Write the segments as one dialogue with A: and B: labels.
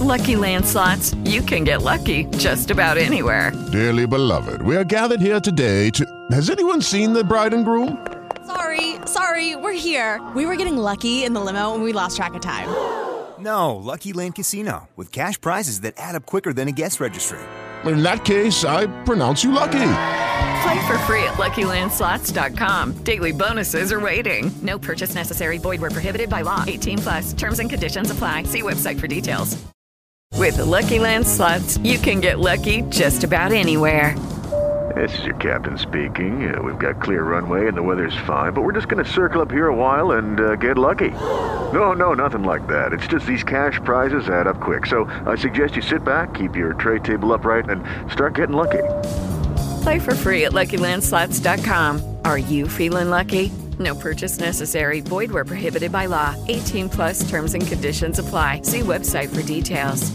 A: Lucky Land Slots, you can get lucky just about anywhere.
B: Dearly beloved, we are gathered here today to... Has anyone seen the bride and groom?
C: Sorry, we're here. We were getting lucky in the limo and we lost track of time.
D: No, Lucky Land Casino, with cash prizes that add up quicker than a guest registry.
B: In that case, I pronounce you lucky.
A: Play for free at LuckyLandSlots.com. Daily bonuses are waiting. No purchase necessary. Void where prohibited by law. 18+. Terms and conditions apply. See website for details. With Lucky Land Slots, you can get lucky just about anywhere.
E: This is your captain speaking. We've got clear runway and the weather's fine, but we're just going to circle up here a while and get lucky. No, nothing like that. It's just these cash prizes add up quick. So I suggest you sit back, keep your tray table upright, and start getting lucky.
A: Play for free at LuckyLandSlots.com. Are you feeling lucky? No purchase necessary. Void where prohibited by law. 18+. Terms and conditions apply. See website for details.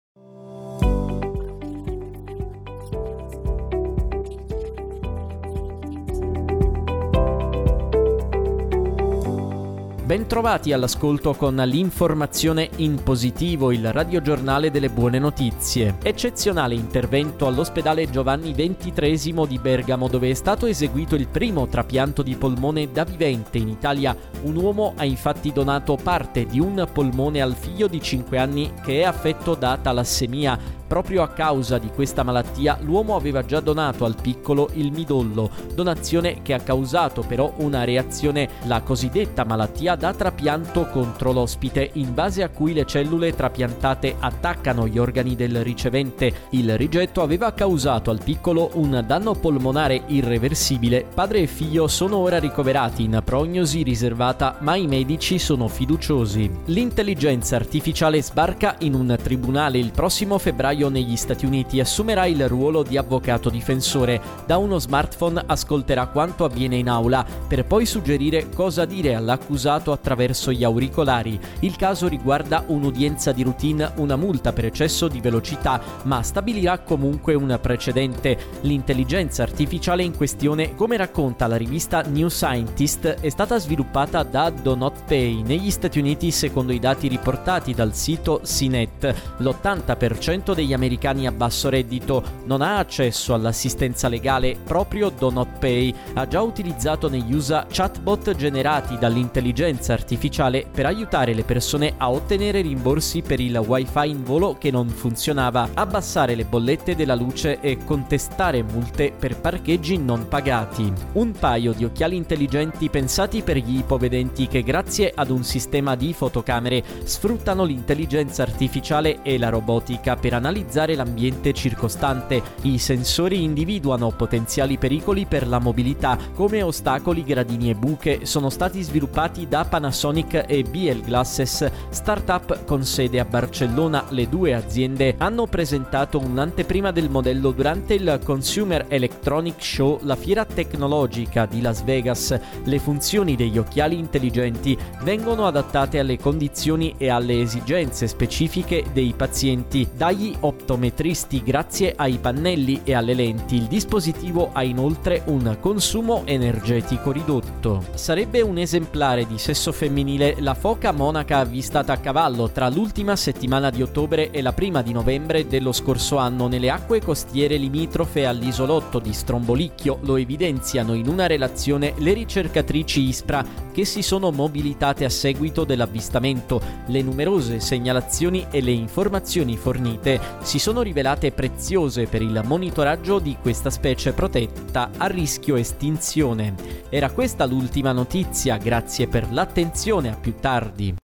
F: Bentrovati all'ascolto con l'informazione in positivo, il radiogiornale delle buone notizie. Eccezionale intervento all'ospedale Giovanni XXIII di Bergamo, dove è stato eseguito il primo trapianto di polmone da vivente in Italia. Un uomo ha infatti donato parte di un polmone al figlio di 5 anni che è affetto da talassemia. Proprio a causa di questa malattia l'uomo aveva già donato al piccolo il midollo, donazione che ha causato però una reazione, la cosiddetta malattia da trapianto contro l'ospite, in base a cui le cellule trapiantate attaccano gli organi del ricevente. Il rigetto aveva causato al piccolo un danno polmonare irreversibile. Padre e figlio sono ora ricoverati in prognosi riservata, ma i medici sono fiduciosi. L'intelligenza artificiale sbarca in un tribunale il prossimo febbraio negli Stati Uniti e assumerà il ruolo di avvocato difensore. Da uno smartphone ascolterà quanto avviene in aula per poi suggerire cosa dire all'accusato attraverso gli auricolari. Il caso riguarda un'udienza di routine, una multa per eccesso di velocità, ma stabilirà comunque un precedente. L'intelligenza artificiale in questione, come racconta la rivista New Scientist, è stata sviluppata da Do Not Pay. Negli Stati Uniti, secondo i dati riportati dal sito CNET, l'80% degli americani a basso reddito non ha accesso all'assistenza legale. Proprio Do Not Pay ha già utilizzato negli USA chatbot generati dall'intelligenza artificiale per aiutare le persone a ottenere rimborsi per il wifi in volo che non funzionava, abbassare le bollette della luce e contestare multe per parcheggi non pagati. Un paio di occhiali intelligenti pensati per gli ipovedenti che grazie ad un sistema di fotocamere sfruttano l'intelligenza artificiale e la robotica per analizzare l'ambiente circostante. I sensori individuano potenziali pericoli per la mobilità, come ostacoli, gradini e buche. Sono stati sviluppati da Panasonic e BL Glasses, startup con sede a Barcellona. Le due aziende hanno presentato un'anteprima del modello durante il Consumer Electronic Show, la fiera tecnologica di Las Vegas. Le funzioni degli occhiali intelligenti vengono adattate alle condizioni e alle esigenze specifiche dei pazienti. Dagli optometristi grazie ai pannelli e alle lenti. Il dispositivo ha inoltre un consumo energetico ridotto. Sarebbe un esemplare di sesso femminile la foca monaca avvistata a cavallo tra l'ultima settimana di ottobre e la prima di novembre dello scorso anno nelle acque costiere limitrofe all'isolotto di Strombolicchio. Lo evidenziano in una relazione le ricercatrici ISPRA che si sono mobilitate a seguito dell'avvistamento. Le numerose segnalazioni e le informazioni fornite si sono rivelate preziose per il monitoraggio di questa specie protetta a rischio estinzione. Era questa l'ultima notizia, grazie per l'attenzione, a più tardi.